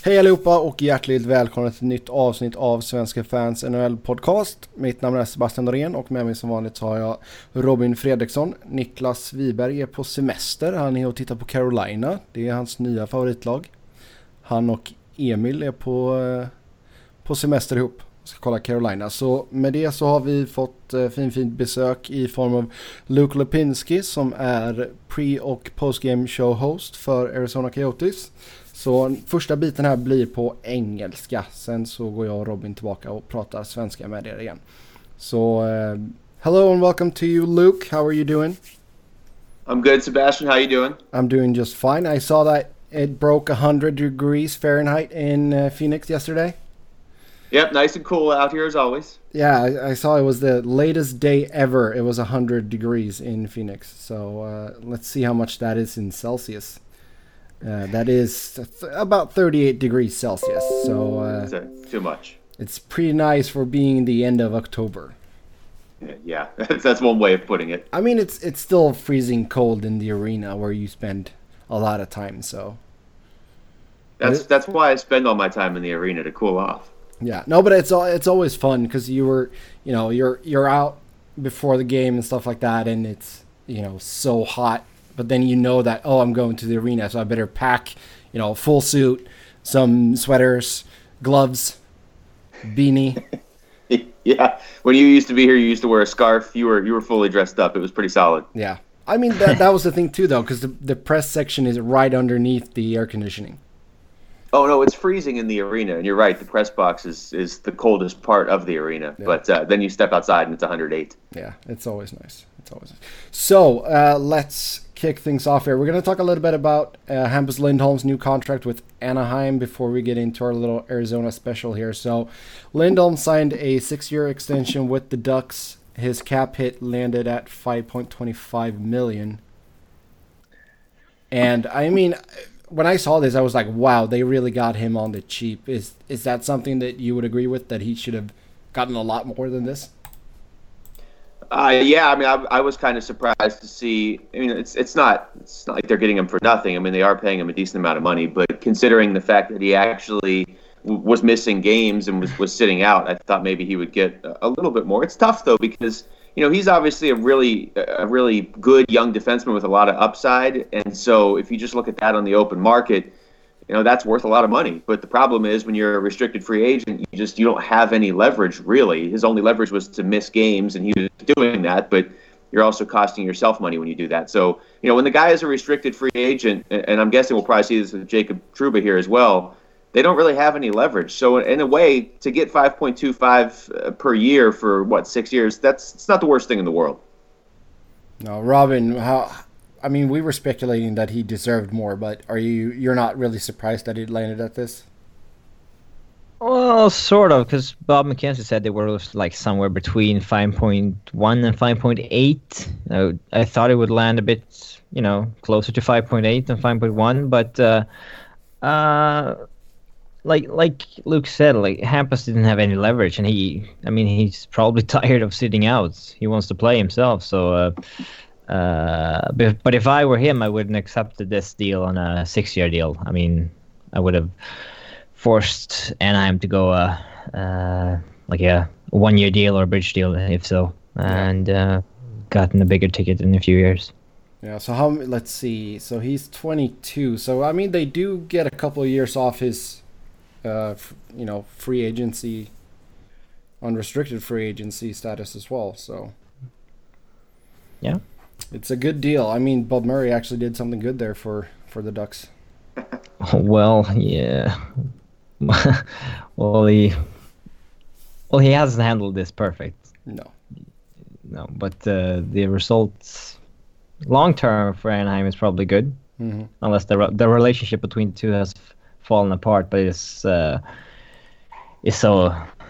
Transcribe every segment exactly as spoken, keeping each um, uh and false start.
Hej allihopa och hjärtligt välkomna till ett nytt avsnitt av Svenska Fans N H L-podcast. Mitt namn är Sebastian Norén och med mig som vanligt så har jag Robin Fredriksson. Niklas Wiberg är på semester, han är och tittar på Carolina. Det är hans nya favoritlag. Han och Emil är på, på semester ihop och ska kolla Carolina. Så med det så har vi fått fin fint besök i form av Luke Lipinski som är pre- och postgame show host för Arizona Coyotes. Så första biten här blir på engelska. Sen så går jag och Robin tillbaka och pratar svenska med er igen. Så uh, hello and welcome to you, Luke. How are you doing? I'm good, Sebastian. How are you doing? I'm doing just fine. I saw that it broke one hundred degrees Fahrenheit in uh, Phoenix yesterday. Yep, nice and cool out here as always. Yeah, I, I saw it was the latest day ever. It was one hundred degrees in Phoenix. So uh, let's see how much that is in Celsius. Uh, that is th- about thirty-eight degrees Celsius, so uh, That's too much. It's pretty nice for being the end of October. Yeah, that's, that's one way of putting it. I mean, it's it's still freezing cold in the arena where you spend a lot of time, so... That's that's why I spend all my time in the arena, to cool off. Yeah, no, but it's it's always fun because you were, you know, you're you're out before the game and stuff like that, and it's, you know, so hot. But then you know that, oh, I'm going to the arena, so I better pack, you know, full suit, some sweaters, gloves, beanie. Yeah, when you used to be here, you used to wear a scarf. You were you were fully dressed up. It was pretty solid. Yeah, I mean that that was the thing too, though, because the the press section is right underneath the air conditioning. Oh no, it's freezing in the arena, and you're right. The press box is, is the coldest part of the arena, yeah. But uh, then you step outside and it's one hundred eight. Yeah, it's always nice. It's always nice. So uh, let's kick things off here. We're going to talk a little bit about uh, Hampus Lindholm's new contract with Anaheim before we get into our little Arizona special here. So Lindholm signed a six-year extension with the Ducks. His cap hit landed at five point two five million dollars. And I mean, when I saw this, I was like, wow, they really got him on the cheap. Is is that something that you would agree with, that he should have gotten a lot more than this? Uh, yeah, I mean, I, I was kind of surprised to see. I mean, it's it's not it's not like they're getting him for nothing. I mean, they are paying him a decent amount of money, but considering the fact that he actually w- was missing games and was, was sitting out, I thought maybe he would get a, a little bit more. It's tough though, because you know he's obviously a really a really good young defenseman with a lot of upside, and so if you just look at that on the open market, you know that's worth a lot of money. But the problem is when you're a restricted free agent, you just you don't have any leverage really. His only leverage was to miss games, and he was doing that. But you're also costing yourself money when you do that. So you know when the guy is a restricted free agent, and I'm guessing we'll probably see this with Jacob Trouba here as well, they don't really have any leverage. So in a way, to get five point two five per year for what six years, that's it's not the worst thing in the world. No, Robin, how? I mean, we were speculating that he deserved more, but are you you're not really surprised that he landed at this? Well, sort of, because Bob McKenzie said they were like somewhere between five point one and five point eight. Uh, I thought it would land a bit, you know, closer to five point eight than five point one, but uh, uh, like like Luke said, like Hampus didn't have any leverage, and he, I mean, he's probably tired of sitting out. He wants to play himself, so. Uh, Uh, but, but if I were him, I wouldn't accept this deal on a six-year deal. I mean, I would have forced Anaheim to go uh, uh, like a one-year deal or a bridge deal, if so, and uh, gotten a bigger ticket in a few years. Yeah. So how? Let's see. So he's twenty-two. So I mean, they do get a couple of years off his, uh, f- you know, free agency, unrestricted free agency status as well. So. Yeah. It's a good deal. I mean, Bob Murray actually did something good there for, for the Ducks. Well, yeah. well, he well he hasn't handled this perfect. No. No, but uh, the results long term for Anaheim is probably good, mm-hmm. unless the the relationship between the two has f- fallen apart. But it's uh, it's so.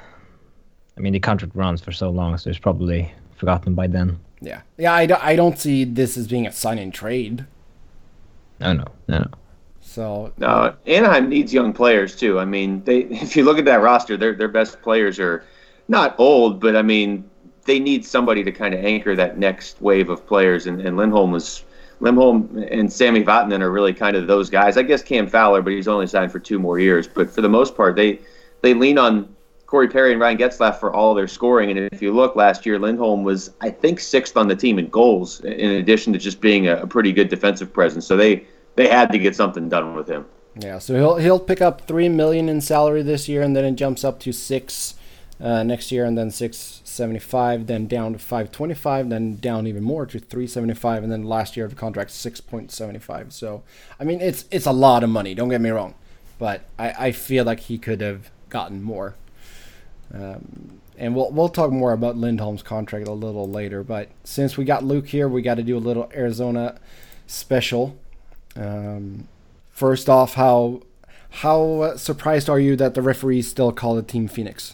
I mean, the contract runs for so long, so it's probably forgotten by then. Yeah, yeah. I, do, I don't see this as being a sign and trade. No, no, no, no. So no, Anaheim needs young players too. I mean, they if you look at that roster, their their best players are not old, but I mean, they need somebody to kind of anchor that next wave of players. And, and Lindholm was Lindholm and Sammy Vatanen are really kind of those guys. I guess Cam Fowler, but he's only signed for two more years. But for the most part, they they lean on Corey Perry and Ryan Getzlaf for all their scoring. And if you look last year, Lindholm was, I think, sixth on the team in goals, in addition to just being a, a pretty good defensive presence. So they, they had to get something done with him. Yeah, so he'll he'll pick up three million in salary this year, and then it jumps up to six uh, next year, and then six seventy five, then down to five twenty five, then down even more to three seventy five, and then last year the contract six point seventy five. So I mean, it's it's a lot of money. Don't get me wrong, but I, I feel like he could have gotten more. Um, and we'll we'll talk more about Lindholm's contract a little later. But since we got Luke here, we got to do a little Arizona special. Um, First off, how how surprised are you that the referees still call the team Phoenix?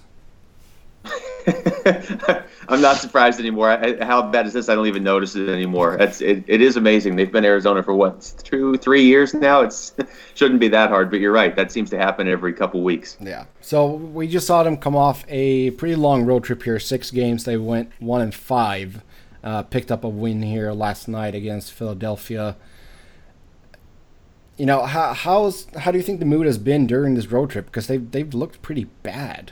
I'm not surprised anymore. I, how bad is this? I don't even notice it anymore. It's it, it is amazing. They've been Arizona for what, two, three years now. It's shouldn't be that hard, but you're right. That seems to happen every couple weeks. Yeah. So we just saw them come off a pretty long road trip here. Six games. They went one and five. Uh, picked up a win here last night against Philadelphia. You know, how how's how do you think the mood has been during this road trip? Because they've they've looked pretty bad.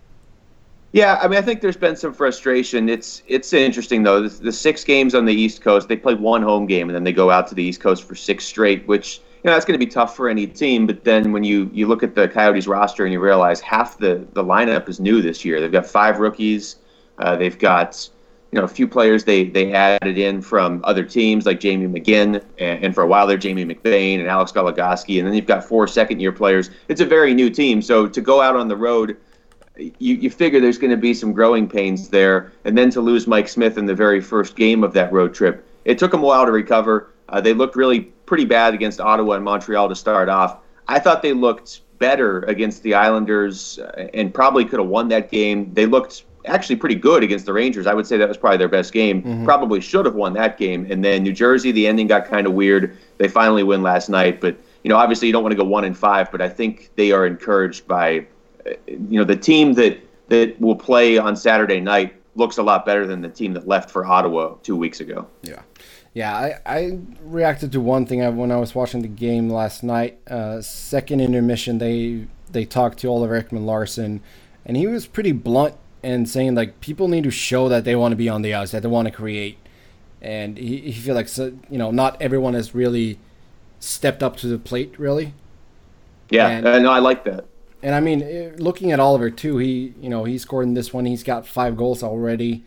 Yeah, I mean, I think there's been some frustration. It's it's interesting though. The, the six games on the East Coast, they play one home game and then they go out to the East Coast for six straight, which you know that's going to be tough for any team. But then when you, you look at the Coyotes roster and you realize half the, the lineup is new this year. They've got five rookies. Uh, they've got you know a few players they they added in from other teams like Jamie McGinn and, and for a while there Jamie McBain and Alex Goligoski, and then you've got four second year players. It's a very new team, so to go out on the road, You, you figure there's going to be some growing pains there, and then to lose Mike Smith in the very first game of that road trip. It took them a while to recover. Uh, they looked really pretty bad against Ottawa and Montreal to start off. I thought they looked better against the Islanders uh, and probably could have won that game. They looked actually pretty good against the Rangers. I would say that was probably their best game. Mm-hmm. Probably should have won that game. And then New Jersey, the ending got kind of weird. They finally win last night. But, you know, obviously you don't want to go one and five, but I think they are encouraged by you know, the team that, that will play on Saturday night looks a lot better than the team that left for Ottawa two weeks ago. Yeah. Yeah, I, I reacted to one thing when I was watching the game last night. Uh, second intermission, they they talked to Oliver Ekman-Larsson, and he was pretty blunt and saying, like, people need to show that they want to be on the ice, that they want to create. And he, he feel like, so, you know, not everyone has really stepped up to the plate, really. Yeah, and, uh, no, I like that. And I mean, looking at Oliver too, he you know he scored in this one. He's got five goals already.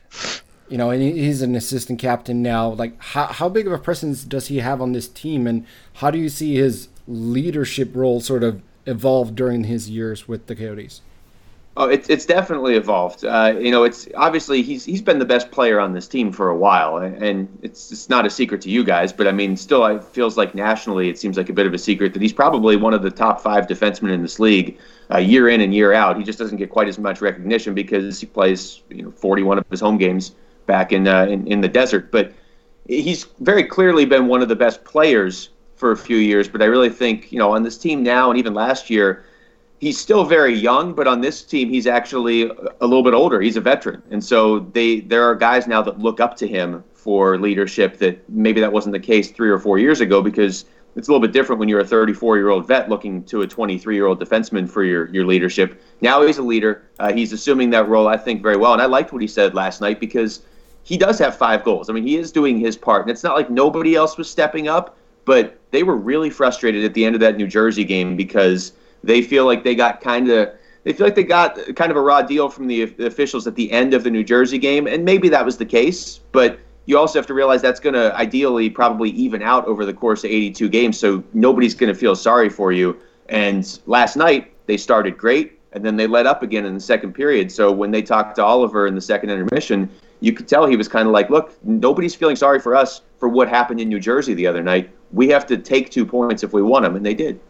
You know, and he's an assistant captain now. Like, how how big of a presence does he have on this team, and how do you see his leadership role sort of evolve during his years with the Coyotes? Oh, it's it's definitely evolved. Uh, you know, it's obviously he's he's been the best player on this team for a while, and it's it's not a secret to you guys. But I mean, still, it feels like nationally, it seems like a bit of a secret that he's probably one of the top five defensemen in this league, uh, year in and year out. He just doesn't get quite as much recognition because he plays you know forty-one of his home games back in uh, in, in the desert. But he's very clearly been one of the best players for a few years. But I really think you know on this team now, and even last year, he's still very young, but on this team, he's actually a little bit older. He's a veteran. And so they there are guys now that look up to him for leadership that maybe that wasn't the case three or four years ago, because it's a little bit different when you're a thirty-four-year-old vet looking to a twenty-three-year-old defenseman for your, your leadership. Now he's a leader. Uh, he's assuming that role, I think, very well. And I liked what he said last night because he does have five goals. I mean, he is doing his part. And it's not like nobody else was stepping up, but they were really frustrated at the end of that New Jersey game because they feel like they got kind of they feel like they got kind of a raw deal from the, the officials at the end of the New Jersey game, and maybe that was the case. But you also have to realize that's going to ideally probably even out over the course of eighty-two games, so nobody's going to feel sorry for you. And last night they started great, and then they let up again in the second period. So when they talked to Oliver in the second intermission, you could tell he was kind of like, "Look, nobody's feeling sorry for us for what happened in New Jersey the other night. We have to take two points if we want them," and they did.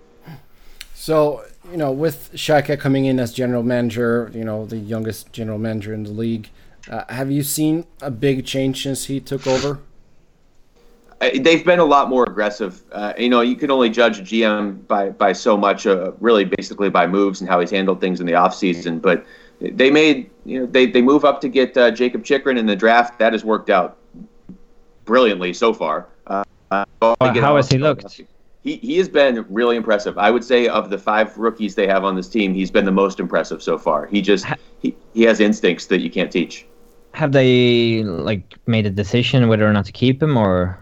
So, you know, with Shaka coming in as general manager, you know, the youngest general manager in the league, uh, have you seen a big change since he took over? Uh, they've been a lot more aggressive. Uh, you know, you can only judge a G M by, by so much, uh, really basically by moves and how he's handled things in the offseason. But they made, you know, they, they move up to get uh, Jacob Chychrun in the draft. That has worked out brilliantly so far. Uh, Uh, Well, how has he looked? He he has been really impressive. I would say of the five rookies they have on this team, he's been the most impressive so far. He just he, he has instincts that you can't teach. Have they like made a decision whether or not to keep him, or?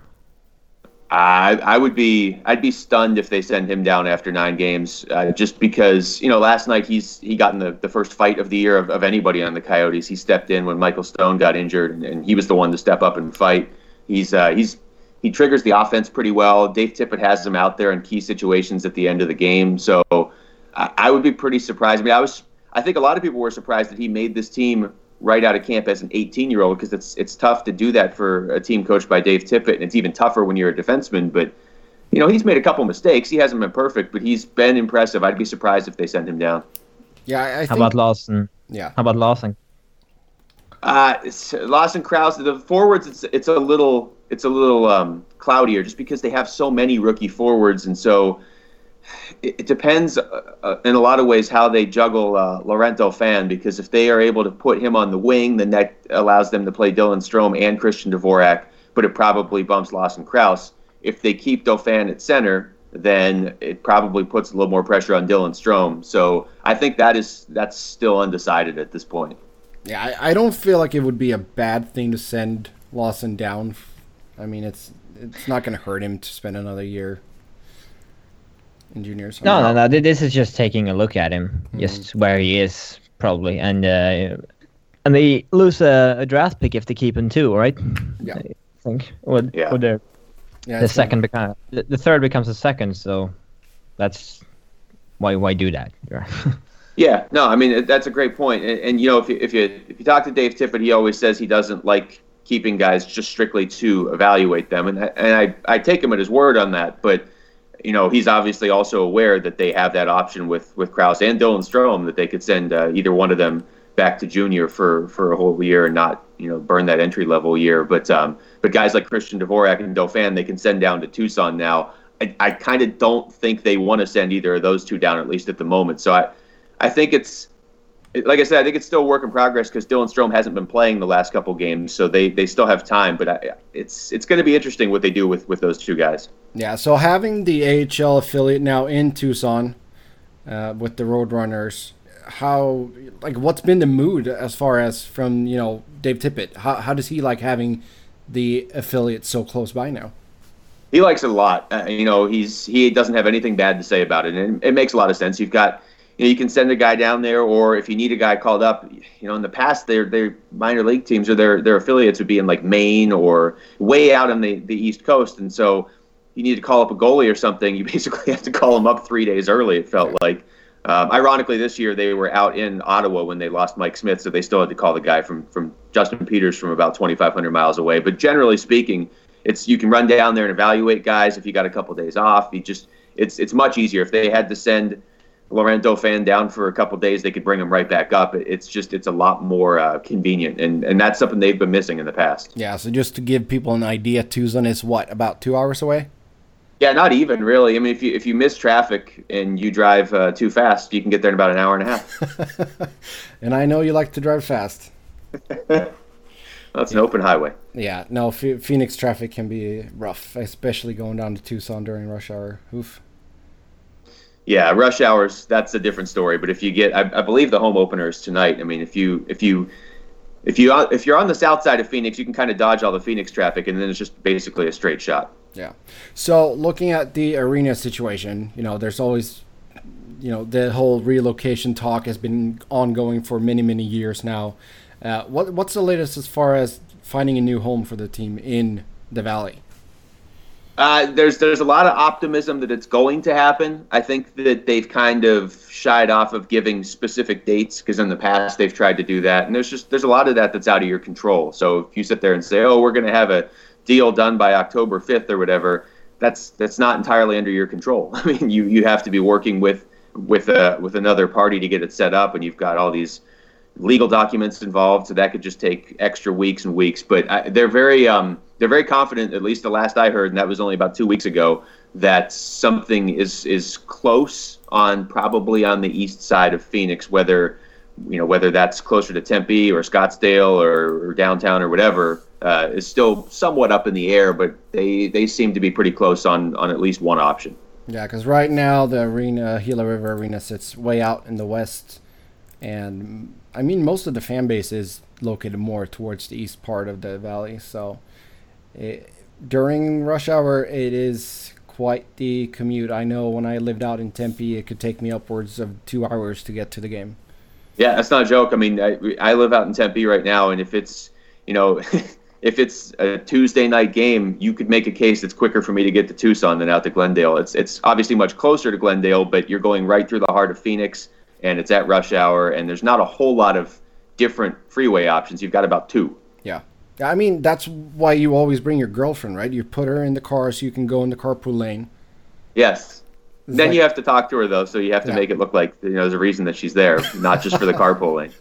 I I would be I'd be stunned if they send him down after nine games, uh, just because you know last night he's he got in the, the first fight of the year of, of anybody on the Coyotes. He stepped in when Michael Stone got injured, and, and he was the one to step up and fight. He's uh, he's he triggers the offense pretty well. Dave Tippett has him out there in key situations at the end of the game, so I, I would be pretty surprised. I mean, I was I think a lot of people were surprised that he made this team right out of camp as an eighteen-year-old, because it's it's tough to do that for a team coached by Dave Tippett, and it's even tougher when you're a defenseman. But, you know, he's made a couple mistakes. He hasn't been perfect, but he's been impressive. I'd be surprised if they send him down. Yeah, I, I How think, about Lawson? Yeah. How about Lawson? Uh, it's, Lawson Krause, the forwards, it's it's a little it's a little um, cloudier, just because they have so many rookie forwards, and so it, it depends uh, in a lot of ways how they juggle uh, Laurent Dauphin, because if they are able to put him on the wing, then that allows them to play Dylan Strome and Christian Dvorak, but it probably bumps Lawson Krause. If they keep Dauphin at center, then it probably puts a little more pressure on Dylan Strome. So I think that is that's still undecided at this point. Yeah, I, I don't feel like it would be a bad thing to send Lawson down. I mean, it's it's not going to hurt him to spend another year in juniors. No, no, no. This is just taking a look at him, mm-hmm. just where he is probably, and uh, and they lose a, a draft pick if they keep him too, right? Yeah, I think. Or, yeah. Or the yeah, the second become the, the third becomes a second, so that's why why do that? Yeah, no, I mean that's a great point, and, and you know if you if you if you talk to Dave Tippett, he always says he doesn't like keeping guys just strictly to evaluate them, and and I I take him at his word on that, but you know he's obviously also aware that they have that option with with Krause and Dylan Strome, that they could send uh, either one of them back to junior for for a whole year and not you know burn that entry level year, but um but guys like Christian Dvorak and Dauphin they can send down to Tucson now. I I kind of don't think they want to send either of those two down, at least at the moment. So I. I think it's, like I said, I think it's still a work in progress because Dylan Strome hasn't been playing the last couple games, so they, they still have time. But I, it's it's going to be interesting what they do with, with those two guys. Yeah, so having the A H L affiliate now in Tucson uh, with the Roadrunners, how like what's been the mood as far as from you know Dave Tippett? How how does he like having the affiliate so close by now? He likes it a lot. Uh, you know, he's he doesn't have anything bad to say about it, and it makes a lot of sense. You've got. You know, you can send a guy down there, or if you need a guy called up, you know, in the past, their their minor league teams or their their affiliates would be in like Maine or way out on the, the East Coast, and so you need to call up a goalie or something. You basically have to call him up three days early. It felt like. Um, ironically, this year they were out in Ottawa when they lost Mike Smith, so they still had to call the guy from from Justin Peters from about twenty-five hundred miles away. But generally speaking, it's you can run down there and evaluate guys if you got a couple days off. You just it's it's much easier if they had to send Laurent Dauphin down for a couple of days, they could bring him right back up. It's just it's a lot more uh, convenient, and, and that's something they've been missing in the past. Yeah, so just to give people an idea, Tucson is what, about two hours away? Yeah, not even really. I mean, if you if you miss traffic and you drive uh, too fast, you can get there in about an hour and a half. And I know you like to drive fast. Well, it's an open highway. Yeah, no, F- Phoenix traffic can be rough, especially going down to Tucson during rush hour. Oof. Yeah, rush hours, that's a different story. But if you get, I, I believe the home opener is tonight. I mean, if you if you if you if you're on the south side of Phoenix, you can kind of dodge all the Phoenix traffic, and then it's just basically a straight shot. Yeah. So looking at the arena situation, you know, there's always, you know, the whole relocation talk has been ongoing for many many years now. Uh, what what's the latest as far as finding a new home for the team in the Valley? Uh, there's there's a lot of optimism that it's going to happen. I think that they've kind of shied off of giving specific dates because in the past they've tried to do that, and there's just there's a lot of that that's out of your control. So if you sit there and say, "Oh, we're going to have a deal done by October fifth or whatever," that's that's not entirely under your control. I mean, you, you have to be working with with a, with another party to get it set up, and you've got all these legal documents involved, so that could just take extra weeks and weeks. But I, they're very um, they're very confident, at least the last I heard, and that was only about two weeks ago, that something is is close on probably on the east side of Phoenix, whether you know whether that's closer to Tempe or Scottsdale or, or downtown or whatever. uh, is still somewhat up in the air, but they, they seem to be pretty close on, on at least one option. Yeah, because right now the arena, Gila River Arena, sits way out in the west. And, I mean, most of the fan base is located more towards the east part of the valley. So, it, during rush hour, it is quite the commute. I know when I lived out in Tempe, it could take me upwards of two hours to get to the game. Yeah, that's not a joke. I mean, I, I live out in Tempe right now, and if it's, you know... if it's a Tuesday night game, you could make a case it's quicker for me to get to Tucson than out to Glendale. It's it's obviously much closer to Glendale, but you're going right through the heart of Phoenix, and it's at rush hour, and there's not a whole lot of different freeway options. You've got about two. Yeah. I mean, that's why you always bring your girlfriend, right? You put her in the car so you can go in the carpool lane. Yes. It's then like, you have to talk to her, though, so you have to yeah. make it look like, you know, there's a reason that she's there, not just for the carpool lane.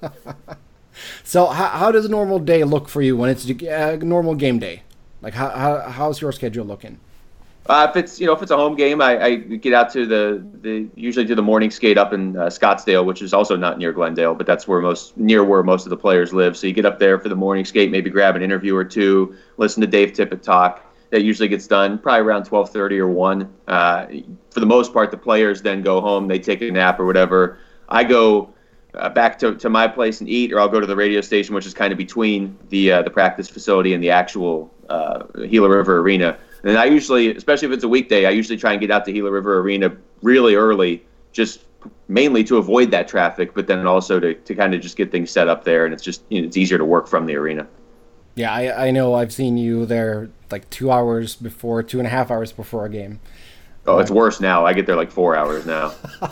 So how how does a normal day look for you when it's a normal game day? Like how, how how's your schedule looking? Uh, if it's you know if it's a home game, I, I get out to the, the usually do the morning skate up in uh, Scottsdale, which is also not near Glendale, but that's where most near where most of the players live. So you get up there for the morning skate, maybe grab an interview or two, listen to Dave Tippett talk. That usually gets done probably around twelve thirty or one. Uh, for the most part, the players then go home, they take a nap or whatever. I go uh, back to, to my place and eat, or I'll go to the radio station, which is kind of between the uh, the practice facility and the actual uh, Gila River Arena. And I usually, especially if it's a weekday, I usually try and get out to Gila River Arena really early, just mainly to avoid that traffic, but then also to, to kind of just get things set up there, and it's just you know, it's easier to work from the arena. Yeah, I, I know I've seen you there like two hours before, two and a half hours before a game. Oh, it's worse now. I get there like four hours now.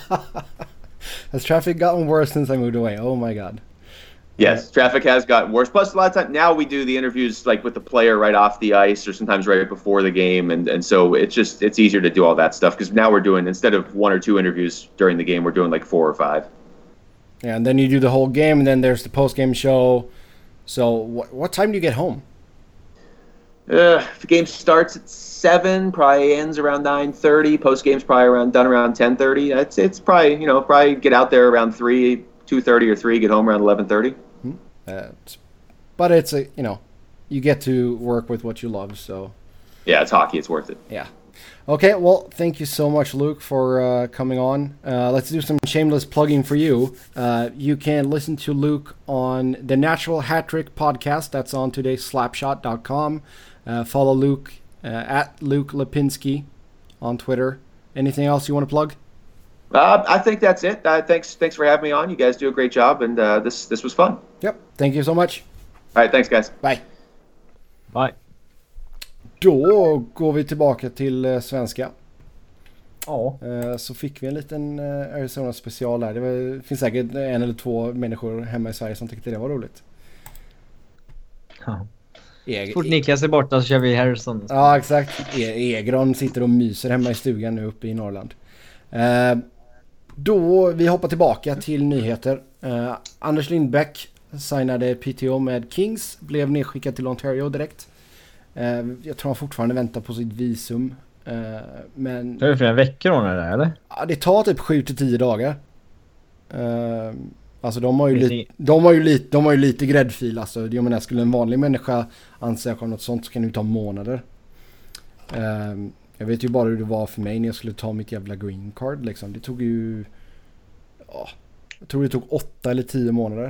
Has traffic gotten worse since I moved away? Oh my God. Yes, traffic has gotten worse. Plus, a lot of times now we do the interviews like with the player right off the ice, or sometimes right before the game, and, and so it's just it's easier to do all that stuff because now we're doing instead of one or two interviews during the game, we're doing like four or five. Yeah, and then you do the whole game, and then there's the post game show. So, what what time do you get home? Uh, if the game starts at seven, probably ends around nine thirty. Post game's probably around done around ten thirty. It's it's probably you know probably get out there around three, two thirty or three. Get home around eleven thirty. Uh, but it's a you know, you get to work with what you love, so yeah, it's hockey. It's worth it. Yeah. Okay, well, thank you so much, Luke, for uh, coming on. Uh, let's do some shameless plugging for you. Uh, you can listen to Luke on the Natural Hat Trick podcast. That's on todays slapshot dot com. Uh, follow Luke uh, at Luke Lipinski on Twitter. Anything else you want to plug? Uh, I think that's it. Uh, thanks, thanks for having me on. You guys do a great job, and uh, this this was fun. Yep. Thank you so much. All right, thanks guys. Bye. Bye. Då går vi tillbaka till eh, svenska. Ja. Eh, så fick vi en liten eh, Arizona special där. Det, var, det finns säkert en eller två människor hemma i Sverige som tyckte det var roligt. Ja. E- Så fort Niklas är borta så kör vi Harrison. Ja, exakt. E- Egron sitter och myser hemma i stugan nu uppe i Norrland. Eh, då vi hoppar tillbaka till nyheter. Eh, Anders Lindbäck signade P T O med Kings, blev nedskickad till Ontario direkt. Eh, jag tror han fortfarande väntar på sitt visum. Eh, men Det är flera veckor hon är där, eller? ja, det tar typ sju till tio dagar. Eh, alltså de har ju Finns lite de har ju lite de har ju lite gräddfil alltså. Jag menar, skulle en vanlig människa ansöka om något sånt så kan det ju ta månader. Eh, jag vet ju bara hur det var för mig när jag skulle ta mitt jävla green card liksom. Det tog ju ja, jag tror det tog åtta eller tio månader.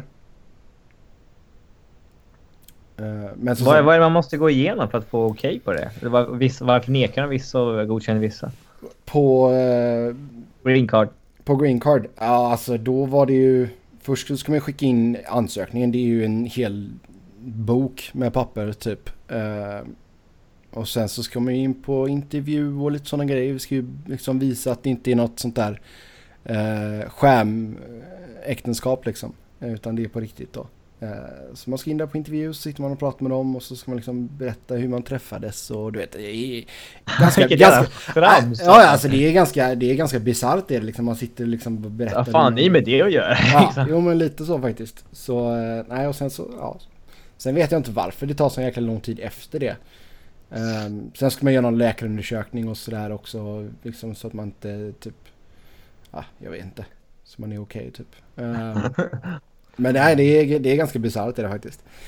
Men så vad, vad är det man måste gå igenom för att få okej okay på det? Eller var, vissa, varför nekar de vissa och godkänner vissa? På uh, green card. På green card? Ja, alltså då var det ju först så ska man skicka in ansökningen. Det är ju en hel bok med papper typ. Uh, och sen så ska man in på intervju och lite sådana grejer. Vi ska ju liksom visa att det inte är något sånt där uh, skämäktenskap liksom. Utan det är på riktigt då. Så man ska in där på intervju, så sitter man och pratar med dem och så ska man liksom berätta hur man träffades och du vet, det är ganska, ganska trams, ja, alltså det är ganska det är ganska bisarrt det liksom, man sitter liksom och berättar. Vad fan är med det att göra? Ja, jo men lite så faktiskt. Så nej, och sen så ja. Sen vet jag inte varför det tar så jäkla lång tid efter det. Um, sen ska man göra någon läkarundersökning och sådär också liksom, så att man inte typ ja, jag vet inte. Så man är okej okay, typ. Um, Men nej, det är, det är ganska bisarrt det där faktiskt.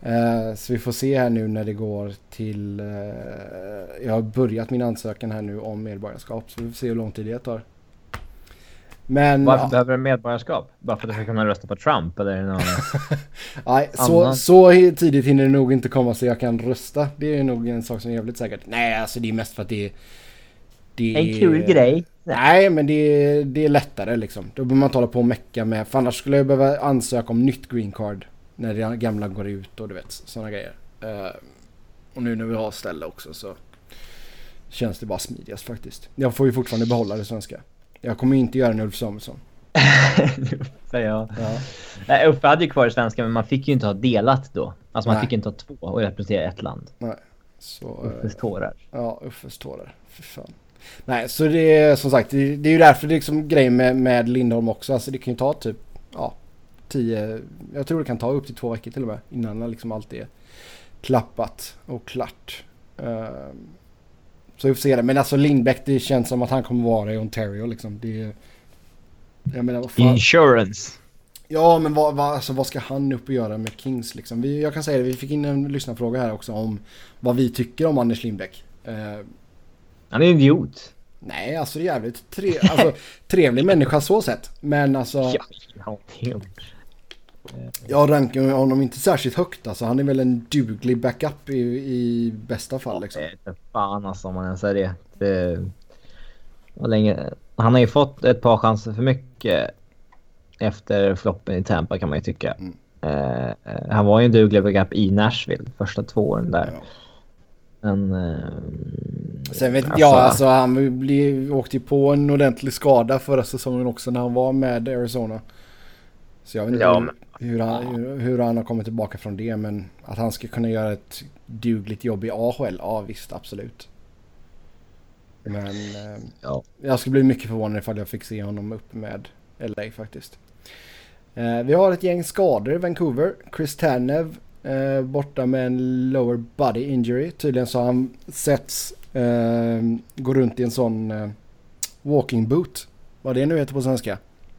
Uh, så vi får se här nu när det går till... Uh, jag har börjat min ansökan här nu om medborgarskap. Så vi får se hur lång tid det tar. Men, Varför ja. behöver du medborgarskap? Bara för att du ska kunna rösta på Trump eller någon Nej, så, så tidigt hinner det nog inte komma så jag kan rösta. Det är nog en sak som är jävligt säkert. Nej, alltså det är mest för att det är... Det en kul grej. Nej, men det är, det är lättare liksom. Då behöver man inte hålla på och mecka med... För annars skulle jag behöva ansöka om nytt green card när det gamla går ut och du vet, sådana grejer. Uh, och nu när vi har ställe också så känns det bara smidigast faktiskt. Jag får ju fortfarande behålla det svenska. Jag kommer inte göra en Ulf Samuelsson. För ja. Ja. Uffe hade ju kvar i svenska, men man fick ju inte ha delat då. Alltså man Nej. fick inte ha två och representera ett land. Nej. Så, Uffes tårar. Ja, Uffes tårar. För fan. Nej, så det är som sagt, det, det är ju därför det är liksom grejen med, med Lindholm också. Alltså det kan ju ta typ, ja, tio, jag tror det kan ta upp till två veckor till och med. Innan liksom allt är klappat och klart. Uh, så vi får se det. Men alltså Lindbäck, det känns som att han kommer vara i Ontario liksom. Det, jag menar, vad fan. Insurance. Ja, men vad, vad, alltså, vad ska han upp och göra med Kings liksom? Vi, jag kan säga det, vi fick in en lyssnarfråga här också om vad vi tycker om Anders Lindbäck. Uh, Han är en idiot. Nej, alltså det är jävligt tre, alltså, trevlig människa så sett. Men alltså... Ja, jag rankar honom inte särskilt högt. Alltså, han är väl en duglig backup i, i bästa fall. Liksom. Det är fan alltså om man ens säger det. det och länge, han har ju fått ett par chanser för mycket efter floppen i Tampa kan man ju tycka. Mm. Uh, han var ju en duglig backup i Nashville första två åren där. Ja. Men, uh, Sen vet alltså, jag, alltså han blev, åkte ju på en ordentlig skada förra säsongen också när han var med Arizona. Så jag vet inte ja, hur, men, hur, han, hur, hur han har kommit tillbaka från det, men att han ska kunna göra ett dugligt jobb i A H L, ja visst, absolut. Men eh, ja. jag skulle bli mycket förvånad ifall jag fick se honom upp med L A faktiskt. Eh, vi har ett gäng skador i Vancouver. Chris Tanev eh, borta med en lower body injury. Tydligen så har han setts Uh, går runt i en sån uh, walking boot. Vad det nu heter på svenska.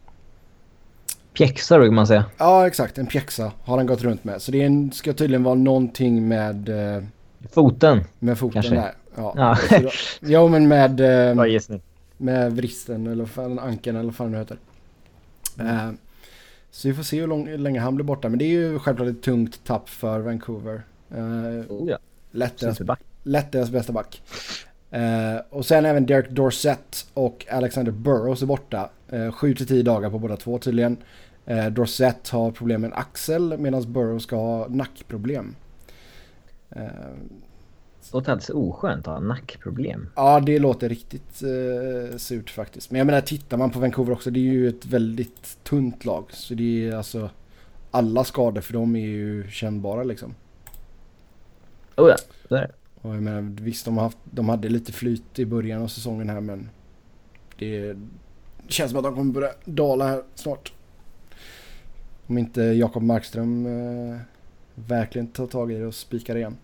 Pjäxa kan man säga. Ja, exakt. En pjäxa har han gått runt med. Så det är en, ska tydligen vara någonting med... Uh, foten. Med foten kanske. Där. Ja, ja. då, ja men med... Uh, ja, med vristen eller fan, ankeln eller vad fan det heter. Mm. Uh, så vi får se hur, lång, hur länge han blir borta. Men det är ju självklart ett tungt tapp för Vancouver. Uh, oh, ja. Lätt deras, lätt deras bästa back. Uh, och sen även Derek Dorsett och Alexander Burrows är borta. Uh, sju till tio dagar på båda två tydligen. Uh, Dorsett har problem med en axel medan Burrows ska ha nackproblem. Uh, det låter alldeles oskönt att ha nackproblem. Ja, det låter riktigt uh, surt faktiskt. Men jag menar, tittar man på Vancouver också, det är ju ett väldigt tunt lag. Så det är alltså, alla skador för dem är ju kännbara liksom. Oh ja, det är det. Och jag menar, visst, de, har haft, de hade lite flyt i början av säsongen här, men det, det känns som att de kommer börja dala här snart. Om inte Jakob Markström eh, verkligen tar tag i det och spikar igen.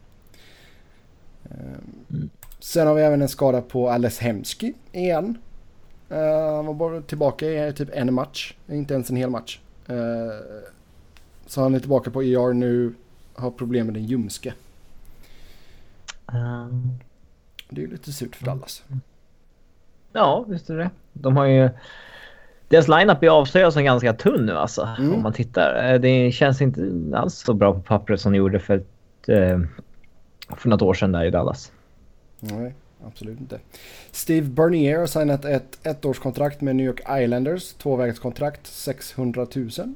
Eh, mm. Sen har vi även en skada på Ales Hemsky igen. Eh, han var bara tillbaka i typ en match, inte ens en hel match. Eh, så han är tillbaka på E R nu, har problem med den ljumske. Um, det är ju lite surt för Dallas. Ja, visst är det. De har ju... Deras lineup är avslöjad som ganska tunn nu alltså. Mm. Om man tittar. Det känns inte alls så bra på pappret som de gjorde för, ett, för något år sedan där i Dallas. Nej, absolut inte. Steve Bernier har signat ett ettårskontrakt med New York Islanders. Tvåvägskontrakt, sexhundratusen.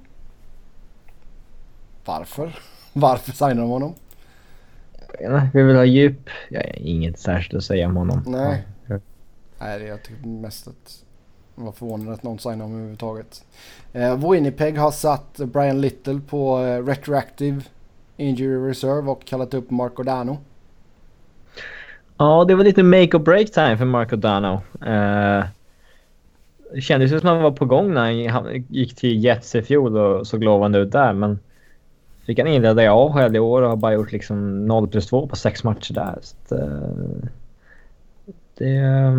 Varför? Varför signar de honom? Vi vill ha djup. Jag har inget särskilt att säga om honom. Nej. Ja. Nej, det är jag tycker mest att var förvånad att någon signar om överhuvudtaget. Eh, Winnipeg har satt Brian Little på eh, retroactive injury reserve och kallat upp Marco Dano. Ja, det var lite make or break time för Marco Dano. Eh, det kändes ju som att han var på gång när han gick till Jets i fjol och såg lovande ut där, men fick han inleda i A H L i år och har bara gjort liksom noll plus två på sex matcher där. Så det... det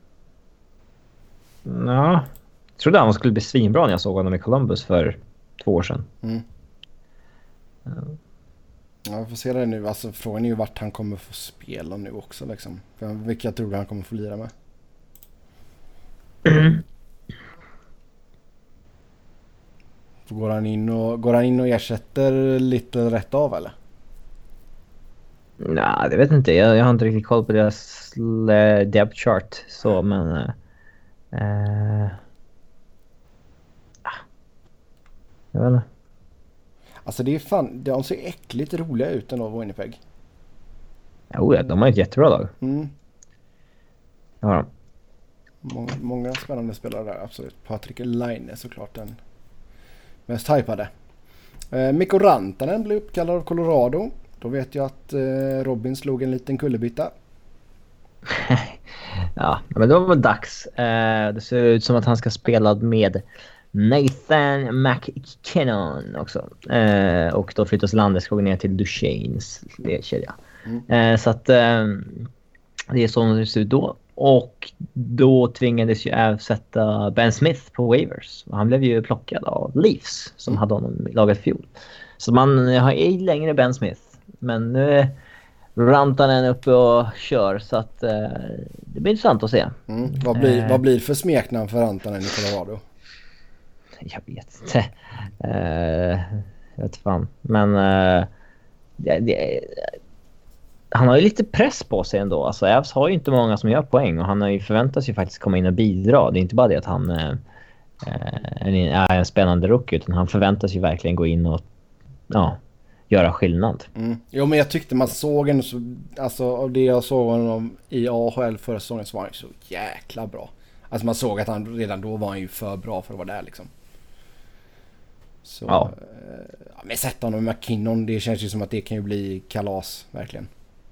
ja, jag trodde han skulle bli svinbra när jag såg honom i Columbus för två år sedan. Mm. Ja, vi får se det nu. Alltså, frågan är ju vart han kommer få spela nu också. Liksom. Vilka tror du han kommer få lira med? Mm. Går han in och, går han in och ersätter lite rätt av eller? Nej, det vet jag inte. Jag, jag har inte riktigt koll på deras uh, depth chart. Så, men... Uh, uh, jag vet inte. Alltså det är fan... De ser äckligt roliga ut ändå, Winnipeg. Jo, ja, de har ett jättebra lag. Mm. Ja. Många, många spännande spelare där, absolut. Patrik Laine är såklart den mest hypade. Eh, Mikko Rantanen blev uppkallad av Colorado. Då vet jag att eh, Robin slog en liten kullerbytta. Ja, men det var väl dags. Eh, det ser ut som att han ska spela med Nathan McKinnon också. Eh, och då flyttas Landeskog ner till Duchesnes kedja. Mm. Eh, så att eh, det är så det ser ut då. Och då tvingades ju även sätta Ben Smith på waivers. Och han blev ju plockad av Leafs som mm. hade honom i laget fjol. Så man har ej längre Ben Smith. Men nu är Rantanen uppe och kör. Så att eh, det blir intressant att se. Mm. Vad, blir, eh, vad blir för smeknamn för Rantanen i Colorado? Jag vet inte. Eh, jag vet fan. Men eh, det, det, han har ju lite press på sig ändå. Alltså Avs har ju inte många som gör poäng. Och han har ju förväntat sig faktiskt komma in och bidra. Det är inte bara det att han eh, är en spännande rookie. Utan han förväntas ju verkligen gå in och ja, göra skillnad. Mm. Jo, men jag tyckte man såg en så, alltså av det jag såg honom i A H L förra säsongen så var han så jäkla bra. Alltså man såg att han redan då var han ju för bra för att vara där liksom. Så, ja. Eh, men sätta honom med McKinnon, det känns ju som att det kan ju bli kalas, verkligen.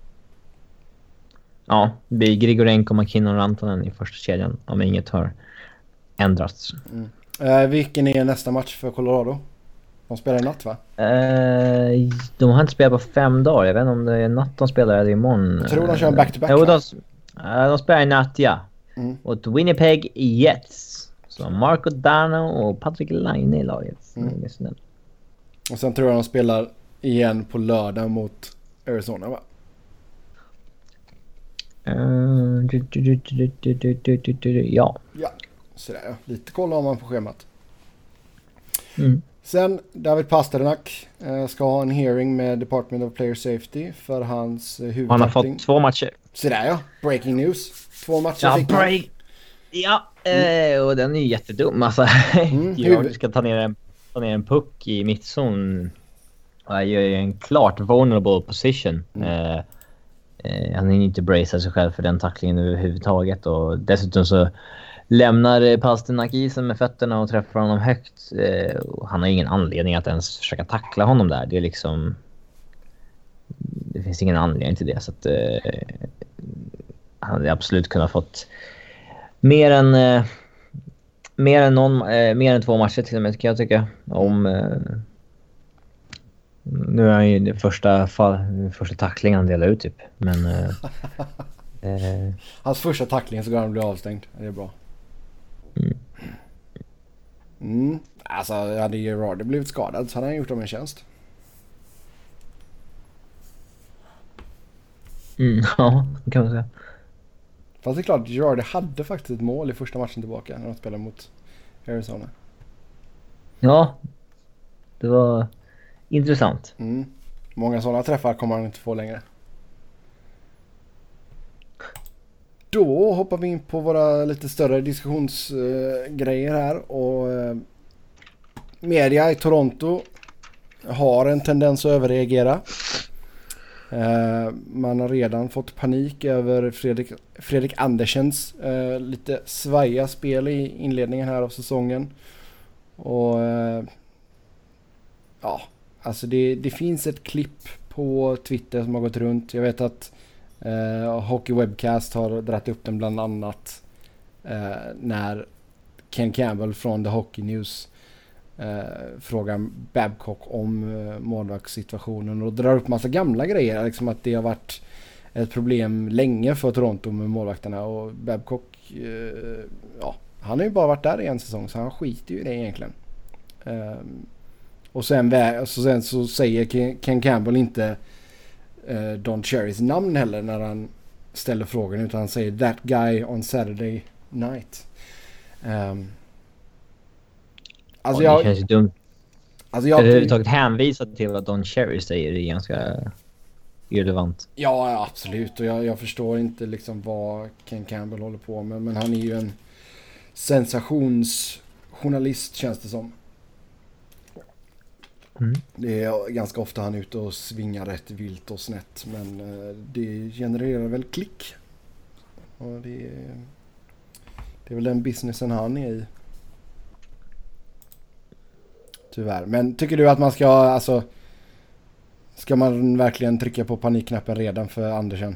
Ja, det blir Grigorenko, McKinnon och Rantanen i första kedjan om inget har ändrats. Mm. Eh, vilken är nästa match för Colorado? De spelar i natt, va? Eh, de har inte spelat på fem dagar. Jag vet inte om det är natt de spelar eller imorgon. Jag tror de kör back-to-back. Jo, de, de spelar i natt, ja. Mm. Och Winnipeg Jets. Så Marco Dano och Patrik Laine i laget. Mm. Och sen tror jag de spelar igen på lördag mot Arizona, va? Uh, du, du, du, du, du, du, du, du, du, ja. Ja, sådär ja. Lite koll har man på schemat. Mm. Sen David Pasternak eh, ska ha en hearing med Department of Player Safety för hans eh, huvudtackling. Han har fått två matcher. Sådär ja, breaking news. Två matcher ja, fick break. Ja, mm. eh, och den är ju jättedum. Alltså, mm, jag ska ta ner, en, ta ner en puck i mittzon. Jag gör ju en klart vulnerable position. Mm. Eh, eh, han hinner inte bracea sig själv för den tacklingen överhuvudtaget. Och dessutom så lämnar Pasternak isen med fötterna och träffar honom högt. Eh, och han har ingen anledning att ens försöka tackla honom där. Det är liksom... Det finns ingen anledning till det. Så att, eh, han hade absolut kunnat fått mer än... Eh, mer, än någon, eh, mer än två matcher till och med, kan jag tycka. Om... Eh, nu är han ju det första, fall, första tacklingen han delar ut typ. Men... Eh, eh, Hans första tackling så går han bli avstängd. Det är bra. Mm. Mm. Alltså hade Gerard blivit skadad så hade han gjort dem en tjänst. Mm, ja, det kan man säga. Fast det är klart, Gerard hade faktiskt ett mål i första matchen tillbaka när de spelade mot Arizona. Ja, det var intressant. Mm. Många sådana träffar kommer han inte få längre. Då hoppar vi in på våra lite större diskussionsgrejer uh, här. Och uh, media i Toronto har en tendens att överreagera. Uh, man har redan fått panik över Fredrik, Fredrik Andersens uh, lite svaja spel i inledningen här av säsongen. Och uh, ja, alltså det, det finns ett klipp på Twitter som har gått runt. Jag vet att Uh, Hockey Webcast har dragit upp den bland annat uh, när Ken Campbell från The Hockey News uh, frågar Babcock om uh, målvaktssituationen och drar upp massa gamla grejer, liksom att det har varit ett problem länge för Toronto med målvakterna, och Babcock uh, ja, han har ju bara varit där i en säsong så han skiter ju i det egentligen. Uh, Och sen, vä- så, sen så säger Ken, Ken Campbell inte uh, Don Cherrys namn heller när han ställer frågan, utan han säger that guy on Saturday night. Um, alltså ja, det jag, känns ju dumt. Alltså jag, överhuvudtaget hänvisa till vad Don Cherry säger är ganska irrelevant. Ja, absolut. Och jag, jag förstår inte liksom vad Ken Campbell håller på med. Men han är ju en sensationsjournalist, känns det som. Mm. Det är ganska ofta han är ute och svingar rätt vilt och snett. Men eh, det genererar väl klick. Och det är, det är väl den businessen han är i. Tyvärr. Men tycker du att man ska, alltså, ska man verkligen trycka på panikknappen redan för Andersen?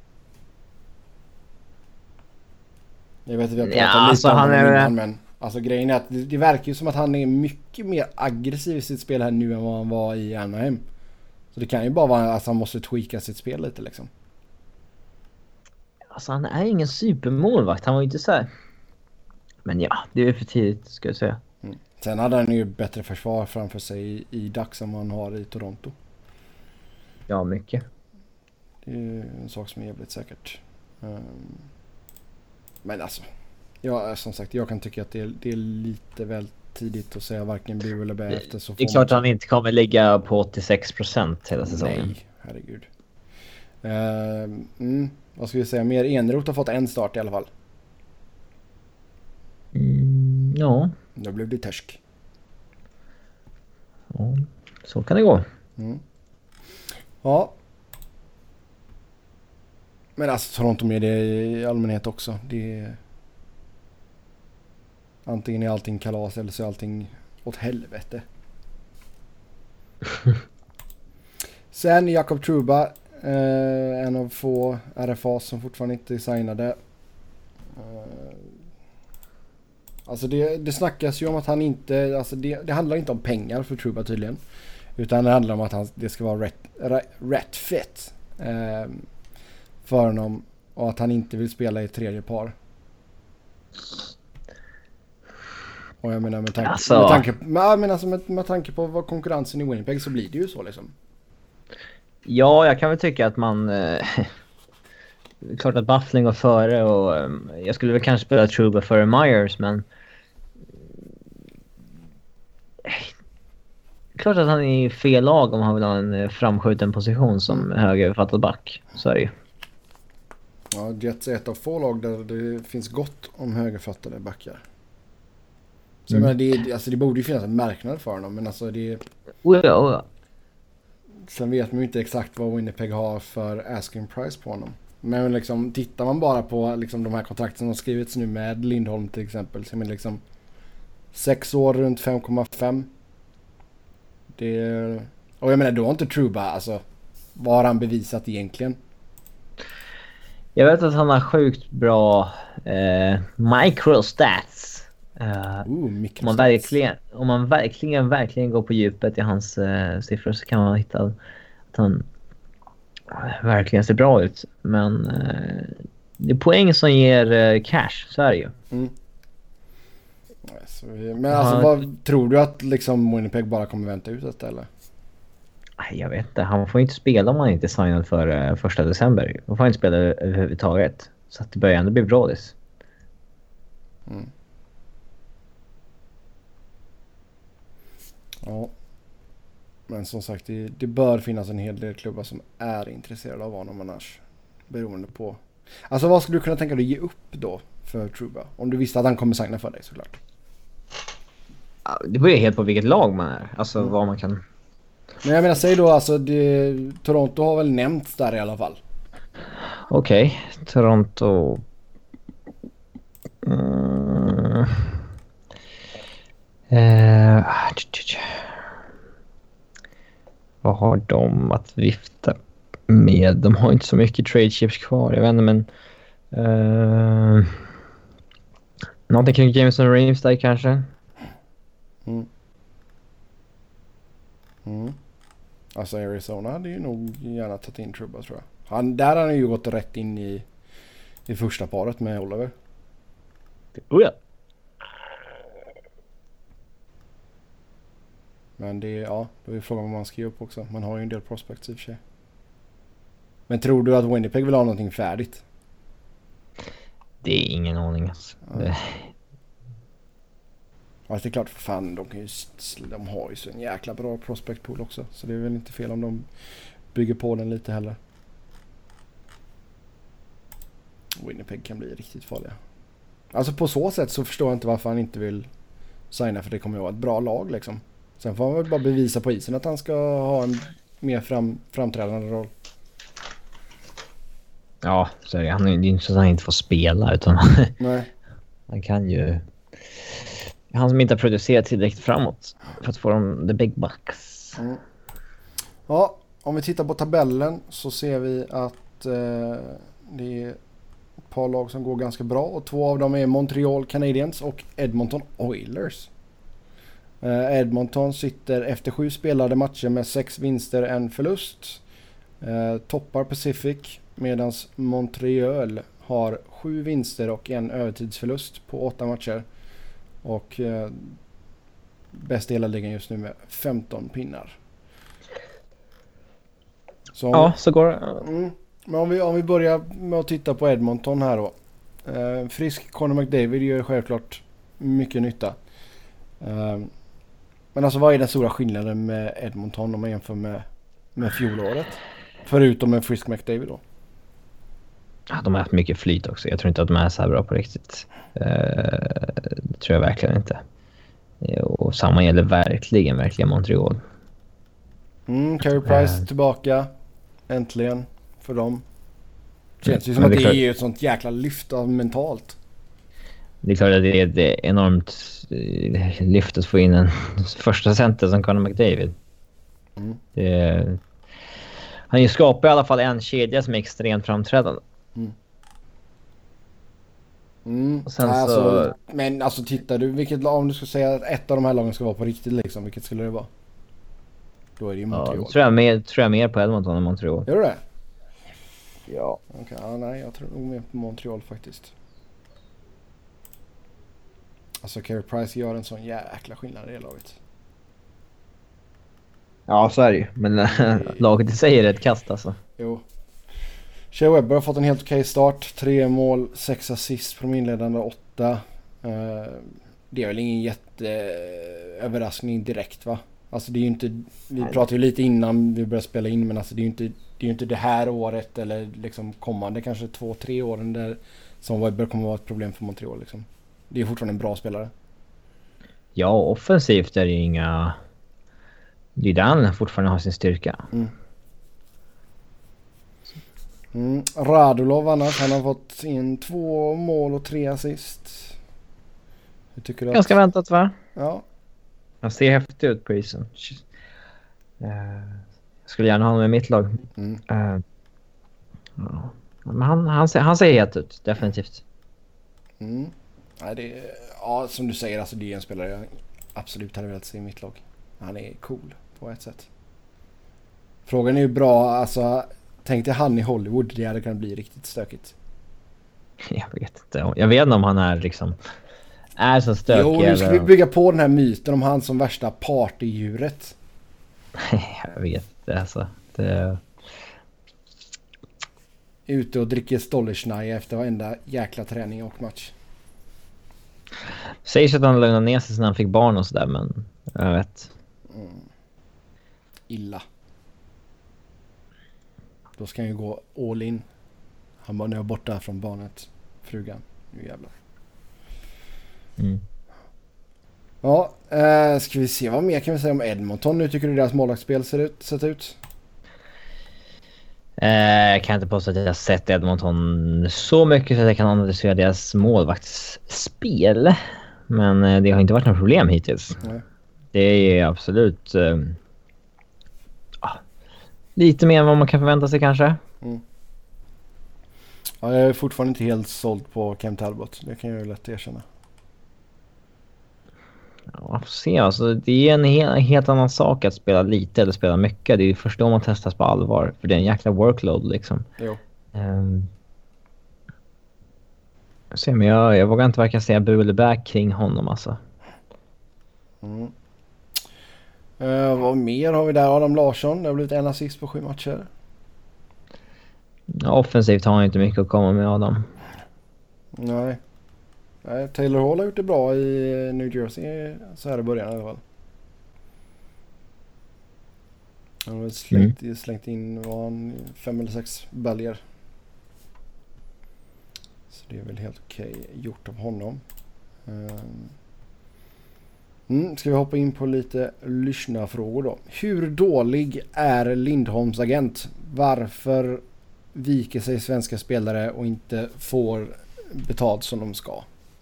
Jag vet att vi har pratat Ja, lite alltså om han honom är... innan, men alltså grejen är att det, det verkar ju som att han är mycket mer aggressiv i sitt spel här nu än vad han var i Anaheim. Så det kan ju bara vara att han måste tweaka sitt spel lite liksom. Alltså han är ingen supermålvakt, han var ju inte så här. Men ja, det är för tidigt ska jag säga. Mm. Sen hade han ju bättre försvar framför sig i, i Dax än vad han har i Toronto. Ja, mycket. Det är ju en sak som är jävligt säkert. Um, men alltså, ja, som sagt, jag kan tycka att det är, det är lite väl tidigt att säga varken bu eller bä efter så. Det är klart att han inte kommer ligga på åttiosex procent hela säsongen. Nej, herregud. Uh, mm, vad ska vi säga? Mer Eneroth har fått en start i alla fall. Mm, ja. Då blev det törsk. Ja, så kan det gå. Mm. Ja. Men alltså Toronto med det i allmänhet också. Det är... Antingen är allting kalas eller så är allting åt helvete. Sen Jakob Trouba. Eh, en av få R F A som fortfarande inte är signade. Eh, alltså det, det snackas ju om att han inte... Alltså det, det handlar inte om pengar för Trouba tydligen. Utan det handlar om att han, det ska vara rätt, rätt, rätt fit eh, för honom. Och att han inte vill spela i tredje par. Och jag menar med tanke, alltså. med, tanke, med, men alltså med, med tanke på vad konkurrensen i Winnipeg så blir det ju så liksom. Ja, jag kan väl tycka att man... Eh, klart att Buffling går före och eh, jag skulle väl kanske spela Trouba före Myers, men... Eh, klart att han är i fel lag om han vill ha en framskjuten position som mm. högerfattad back. Så är det ju. Ja, Jets är ett av få lag där det finns gott om högerfattade backar. Så mm. jag menar, det, alltså det borde ju finnas en marknad för honom, men alltså det... Oh ja, oh ja. Sen vet man ju inte exakt vad Winnipeg har för asking price på honom. Men liksom, tittar man bara på liksom, de här kontrakten som har skrivits nu med Lindholm till exempel. Så men liksom sex år runt fem komma fem. Det... Och jag menar, då har inte Trouba, alltså, vad har han bevisat egentligen? Jag vet att han har sjukt bra eh, microstats. Uh, Ooh, om, man verkligen, om man verkligen verkligen går på djupet i hans uh, siffror så kan man hitta att han uh, verkligen ser bra ut. Men uh, det är poäng som ger uh, cash, så är det ju. Mm. Alltså, men alltså, uh, vad, tror du att liksom Winnipeg bara kommer vänta ut detta eller? Jag vet inte, han får inte spela om han inte är signad för uh, första december. Han får inte spela överhuvudtaget. Så att det börjar ändå bli brådis. Mm. Ja, men som sagt det, det bör finnas en hel del klubbar som är intresserade av honom annars, beroende på. Alltså vad skulle du kunna tänka dig att ge upp då för Trouba? Om du visste att han kommer signa för dig såklart. Det beror ju helt på vilket lag man är, alltså mm. vad man kan. Men jag menar, säg då alltså det, Toronto har väl nämnts där i alla fall. Okej, okay. Toronto. Mm. Eh, vad har de att vifta med? De har inte så mycket trade chips kvar, jag vet inte, men uh, någonting kring Jameson Reeves där kanske. Mm. Mm. Alltså Arizona hade ju nog gärna tagit in Trouba, tror jag. Han, där har han ju gått rätt in i, i första paret med Oliver. Oh ja. Men det är, ja, då är frågan vad man ska ge upp också. Man har ju en del prospects i och för sig. Men tror du att Winnipeg vill ha någonting färdigt? Det är ingen aning alltså. Ja. Det... Ja, det är klart för fan. De, kan ju, de har ju så en jäkla bra prospect pool också. Så det är väl inte fel om de bygger på den lite heller. Winnipeg kan bli riktigt farliga. Alltså på så sätt så förstår jag inte varför han inte vill signa, för det kommer ju vara ett bra lag liksom. Sen får han väl bara bevisa på isen att han ska ha en mer fram, framträdande roll. Ja, så är det. Han är ju inte så att han inte får spela, utan Nej. han kan ju... Han som inte har producerat tillräckligt framåt för att få de the big bucks. Mm. Ja, om vi tittar på tabellen så ser vi att eh, det är ett par lag som går ganska bra. Och två av dem är Montreal Canadiens och Edmonton Oilers. Eh, Edmonton sitter efter sju spelade matcher med sex vinster, en förlust. Eh, toppar Pacific, medan Montreal har sju vinster och en övertidsförlust på åtta matcher. Och eh, bäst i hela ligan just nu med femton pinnar. Så om, Ja, så går det. mm, men om vi, om vi börjar med att titta på Edmonton här då. Eh, frisk Connor McDavid gör självklart mycket nytta. Eh, men alltså vad är den stora skillnaden med Edmonton om man jämför med, med fjolåret? Förutom med frisk McDavid då. Ja, de har haft mycket flyt också. Jag tror inte att de är så här bra på riktigt. Uh, det tror jag verkligen inte. Och samma gäller verkligen, verkligen Montreal. Mm, Carey Price uh, tillbaka. Äntligen för dem. Känns ju som Men att det det är är ett sånt jäkla lyft av mentalt. Det är klart att det är ett enormt lyft att få in en första center som Connor McDavid. Mm. Det, han ju skapar i alla fall en kedja som är extremt framträdande. Mm. Mm. Och sen Nej, så... alltså, men alltså tittar du, vilket lag, om du ska säga att ett av de här lagen ska vara på riktigt liksom, vilket skulle det vara? Då är det ju Montreal. Ja, tror jag mer, tror jag mer på Edmonton än Montreal. Gör du det? Ja. Okej, okay, ja, nej jag tror nog mer på Montreal faktiskt. Alltså Carey Price gör en sån jäkla skillnad i det laget. Ja, så är det ju. Men laget i sig är ett kast alltså. Jo. Shea Weber har fått en helt okej start. Tre mål, sex assist på de inledande åtta. Uh, det är väl ingen jätteöverraskning direkt va? Alltså det är ju inte, vi pratade ju lite innan vi började spela in, men alltså det är ju inte, det är ju inte det här året eller liksom kommande kanske två, tre åren där som Weber kommer vara ett problem för Montreal liksom. Det är fortfarande en bra spelare. Ja, offensivt är det ju inga... Det är där han fortfarande har sin styrka. Mm. Mm. Radulov annars, han har fått in två mål och tre assist. Hur tycker du att... Ganska väntat va? Ja. Han ser häftig ut på isen. Uh, jag skulle gärna ha honom i mitt lag. Mm. Uh, ja. Men han, han, ser, han ser het ut, definitivt. Mm. Nej, det är, ja, som du säger, alltså det är en spelare jag absolut hade velat se i mitt lag. Han är cool på ett sätt. Frågan är ju bra, alltså tänk dig han i Hollywood, det hade kunnat bli riktigt stökigt. Jag vet inte. Jag vet inte om han är liksom är så stökig. Jo, nu ska eller... vi bygga på den här myten om han som värsta partydjuret. Jag vet inte, alltså. Det... Ute och dricker Stollersnaja efter varenda jäkla träning och match. Sägs att han lugnade ner sig när han fick barn och sådär, men jag vet. Mm. Illa. Då ska han ju gå all in. Han bara, nu är borta från barnet. Frugan. Nu jävlar. Mm. Ja, eh, ska vi se vad mer kan vi säga om Edmonton. Nu tycker du deras målvaktsspel ser ut, sett ut? Eh, jag kan inte påstå att jag har sett Edmonton så mycket så att jag kan analysera deras målvaktsspel. Men eh, det har inte varit något problem hittills. Nej. Det är absolut eh, ah, lite mer än vad man kan förvänta sig kanske. Mm. Ja, jag är fortfarande inte helt såld på Cam Talbot. Det kan jag ju lätt erkänna. Ja, får se. Alltså, det är en he- helt annan sak att spela lite eller spela mycket. Det är ju först då man testas på allvar. För det är en jäkla workload liksom. Jo. Um, jag, ser, men jag, jag vågar inte verka säga bu eller bä kring honom alltså. Mm. Uh, vad mer har vi där? Adam Larsson, det har blivit en assist på sju matcher. Ja, offensivt har han inte mycket att komma med, Adam. Nej. Nej, Taylor Hall har gjort det bra i New Jersey så här i början i alla fall. Han har slängt, mm. slängt in var han, fem eller sex baljer. Så det är väl helt okej gjort av honom. Mm, ska vi hoppa in på lite lyssnarfrågor då. Hur dålig är Lindholms agent? Varför viker sig svenska spelare och inte får betalt som de ska?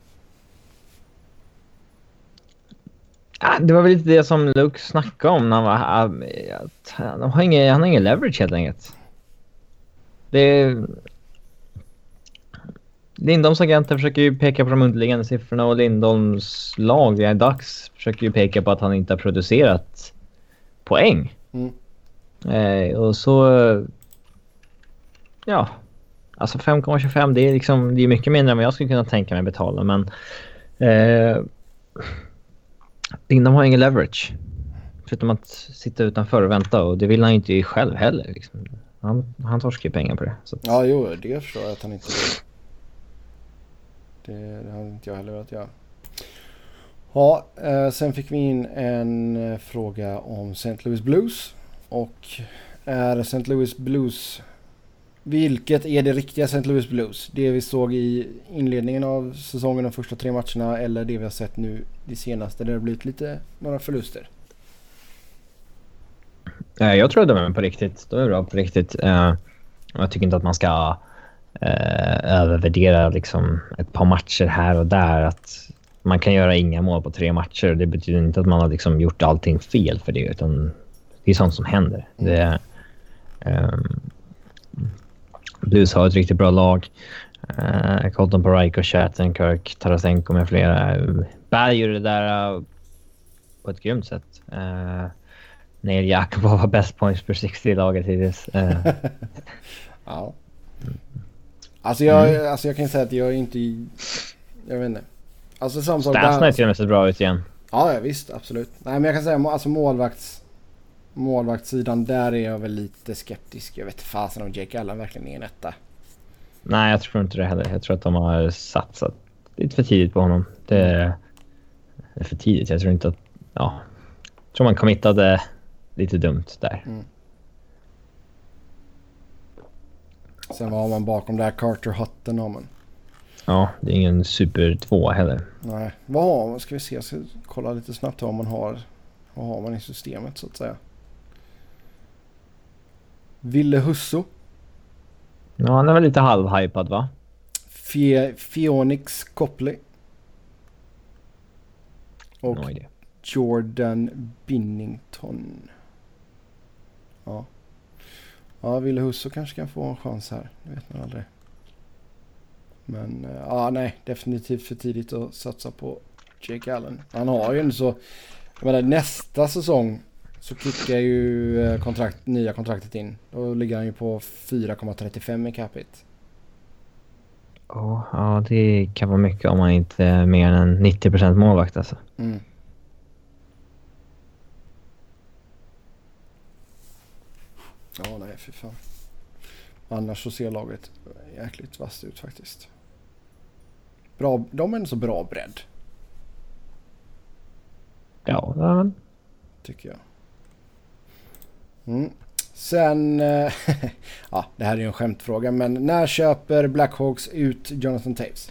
Det var väl lite det som Luke snackade om när han var att han har ingen, han har ingen leverage helt enkelt. Det är, Lindholms agenter försöker ju peka på de underliggande siffrorna och Lindholms lag i dags försöker ju peka på att han inte har producerat poäng. Mm. Eh, och så ja, alltså fem komma tjugofem, det är liksom, det är mycket mindre än vad jag skulle kunna tänka mig betala, men eh, Lindholm har ingen leverage. Förutom att sitta utanför och vänta, och det vill han inte själv heller. Liksom. Han, han torskar ju pengar på det. Så att... Ja, jo, det förstår jag att han inte vill. Det, det har inte jag heller velat göra. Ja, eh, sen fick vi in en eh, fråga om Saint Louis Blues. Och är Saint Louis Blues... Vilket är det riktiga Saint Louis Blues? Det vi såg i inledningen av säsongen, de första tre matcherna, eller det vi har sett nu det senaste där det har blivit lite några förluster? Jag tror att de är på riktigt. De är bra på riktigt. Jag tycker inte att man ska övervärdera liksom ett par matcher här och där. Att man kan göra inga mål på tre matcher. Det betyder inte att man har liksom gjort allting fel för det, utan det är sånt som händer. Mm. Det är, um, Blues har ett riktigt bra lag. Uh, Colton Parayko, Shattenkirk, Tarasenko med flera. Berg gör det där uh, på ett grymt sätt. Uh, Neil Jakobov var best points per sextio i laget hittills. Uh. Ja. Alltså jag, mm. alltså jag kan säga att jag är inte... Jag vet inte. Alltså samma sak... Stansna är till och med så bra ut igen. Ja, ja, visst. Absolut. Nej, men jag kan säga alltså målvakts... målvaktssidan, där är jag väl lite skeptisk. Jag vet inte fasen om Jake Allen verkligen är en etta. Nej, jag tror inte det heller. Jag tror att de har satsat lite för tidigt på honom. Det är för tidigt. Jag tror inte att... Ja, jag tror man committade lite dumt där. Mm. Sen var man bakom där Carter Hutton har man. Ja, det är ingen super två heller. Nej, vad har man? Ska vi se, jag ska kolla lite snabbt vad man har. Vad har man i systemet så att säga. Ville Husso. Ja, han är väl lite halvhypad, va? Fie- Phoenix Copley. Och no Jordan Binnington. Ja. Ja, Ville Husso kanske kan få en chans här. Det vet man aldrig. Men ja, nej, definitivt för tidigt att satsa på Jake Allen. Han har ju en så... Jag menar, nästa säsong så kickar ju kontrakt, nya kontraktet in. Då ligger han ju på fyra komma trettiofem i capita. Oh, ja, det kan vara mycket om man inte är mer än nittio procent målvakt alltså. Mm. Ja, nej, för fan. Annars så ser laget jäkligt vasst ut faktiskt. Bra, de är en så bra bredd. Ja, men... tycker jag. Mm. Sen, ja, det här är ju en skämtfråga, men när köper Blackhawks ut Jonathan Toews?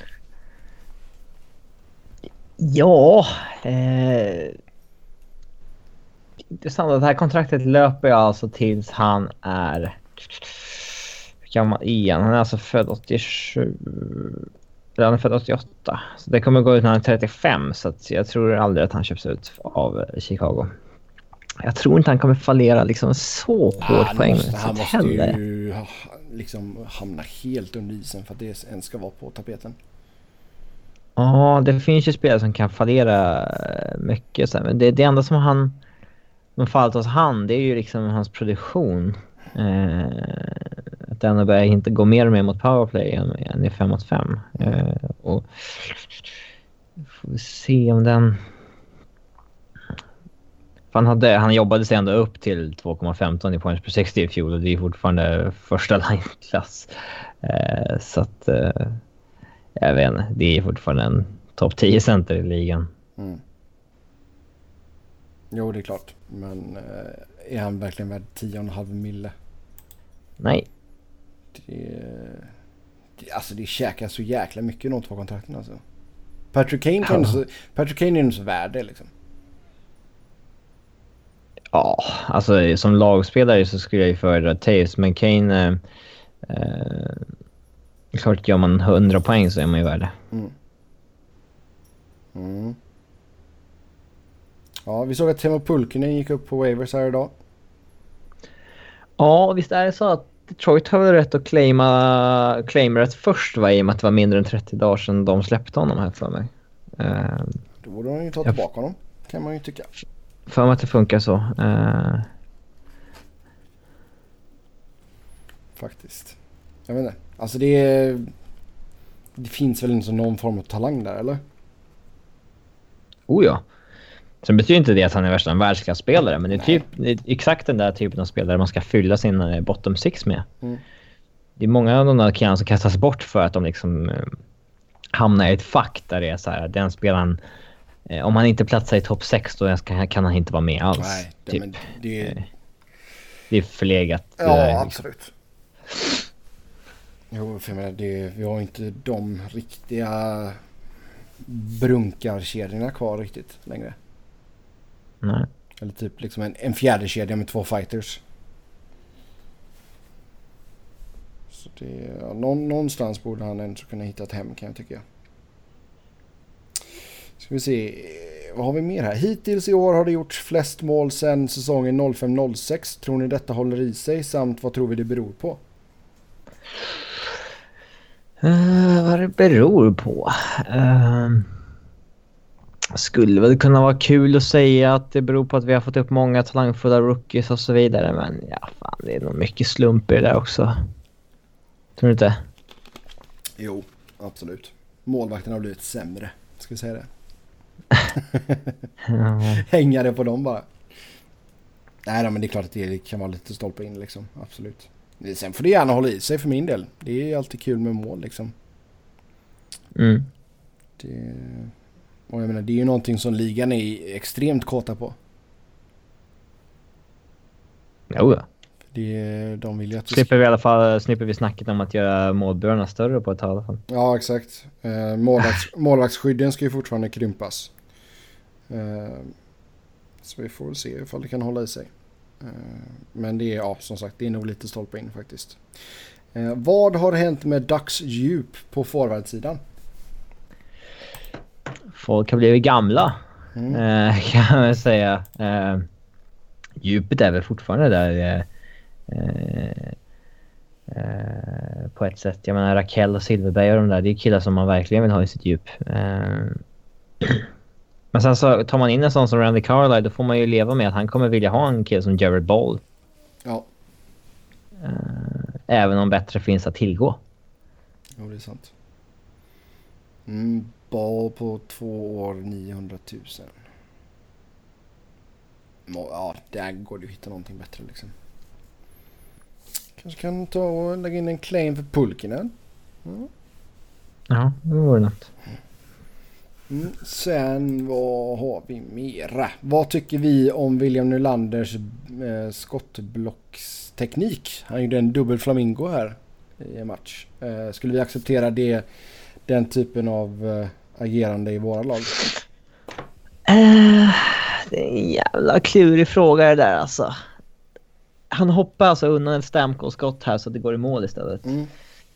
Ja, eh... intressant att det här kontraktet löper jag alltså tills han är... Hur gammal igen? Han är alltså född åttiosju... Han är född åttioåtta. Så det kommer gå ut när han är trettiofem. Så att jag tror aldrig att han köps ut av Chicago. Jag tror inte han kommer fallera liksom så hårt ah, poäng. Måste, han måste heller. ju liksom hamna helt under isen för att det ens ska vara på tapeten. Ja, det finns ju spelare som kan fallera mycket. Men det, det enda som han... Men fallit hos han, det är ju liksom hans produktion. Eh, att den börjar inte gå mer och mer mot powerplay än, än i fem mot fem. Eh, och får vi se om den... Han, hade, han jobbade sig ändå upp till två komma femton i points per sextio i fjol och det är fortfarande första line-klass. Eh, så att eh, jag vet inte, det är fortfarande en topp tio center i ligan. Mm. Jo, det är klart. Men eh, är han verkligen värd tio komma fem mille? Nej. Det, det, alltså det käkar så jäkla mycket i de två kontrakten alltså. Patrick Kane kan ja. så, Patrick Kane är ju så värd det liksom. Ja, alltså som lagspelare så skulle jag ju föredra Taves, men Kane eh, eh, klart gör man hundra poäng så är man ju värd det. Mm. Mm. Ja, vi såg att Teemu Pulkkinen gick upp på waivers här idag. Ja, visst är det så att Detroit har väl rätt att claima, claima rätt först, va, i och med att det var mindre än trettio dagar sedan de släppte honom här för mig. Uh, Då borde de ju ta tillbaka jag, honom, kan man ju tycka. För mig att det funkar så. Uh, Faktiskt. Jag vet inte. Alltså det är, det finns väl inte någon form av talang där, eller? Oh ja. Sen betyder inte det att han är värsta en världsklasspelare, men det är, typ, det är exakt den där typen av spelare man ska fylla sin bottom six med. Mm. Det är många av de där killarna som kastas bort för att de liksom eh, hamnar i ett fack där det är så här, den spelaren, eh, om han inte platsar i topp sex då kan, kan han inte vara med alls. Nej, det, typ. men det, är... Eh, det är förlegat. Ja, eh, absolut. Jo, för jag menar, det, vi har inte de riktiga brunkarkedjorna kvar riktigt längre. Nej. Eller typ liksom en, en fjärde kedja med två fighters. Så det, ja, någon, någonstans borde han ändå kunna hitta ett hem, kan jag tycka. Ska vi se, vad har vi mer här? Hittills i år har det gjorts flest mål sedan säsongen noll fem noll sex. Tror ni detta håller i sig? Samt vad tror vi det beror på? Uh, vad det beror på? Uh... Skulle väl kunna vara kul att säga att det beror på att vi har fått upp många talangfulla rookies och så vidare. Men ja, fan, det är nog mycket slump i det där också. Tror du inte? Jo, absolut. Målvakten har blivit sämre. Ska vi säga det? Hänga det på dem bara. Nej då, men det är klart att det kan vara lite stolpe in liksom. Absolut. Sen får det gärna hålla i sig för min del. Det är alltid kul med mål liksom. Mm. Det... Och jag menar, det är ju någonting som ligan är extremt kåta på. Jo, ja. Det, de vill ju att vi slipper vi i alla fall slipper vi snacket om att göra målburarna större på ett tag i alla fall. Ja, exakt. Eh, målvakts, målvaktsskydden ska ju fortfarande krympas. Eh, så vi får väl se ifall det kan hålla i sig. Eh, men det är, ja, som sagt, det är nog lite stolpe in faktiskt. Eh, vad har hänt med Ducks djup på forwardsidan? Folk har blivit gamla, mm. eh, kan man säga. Eh, djupet är väl fortfarande där eh, eh, på ett sätt. Jag menar, Rakell och Silverberg och de där, det är killar som man verkligen vill ha i sitt djup. Eh, men sen så tar man in en sån som Randy Carlyle, då får man ju leva med att han kommer vilja ha en kille som Jared Ball. Ja. Eh, även om bättre finns att tillgå. Jo, det är sant. Mm. Ball på två år, niohundratusen. Ja, där går det att hitta någonting bättre liksom. Kanske kan ta och lägga in en claim för Pulkkinen. Mm. Ja, det vore något. Mm. Sen, vad har vi mera? Vad tycker vi om William Nylanders eh, skottblocksteknik? Han gjorde en dubbel flamingo här i en match. Eh, skulle vi acceptera det, den typen av eh, agerande i våra lag? Uh, det är en jävla klurig fråga det där alltså. Han hoppar alltså undan ett Stamkos-skott här så att det går i mål istället. Mm.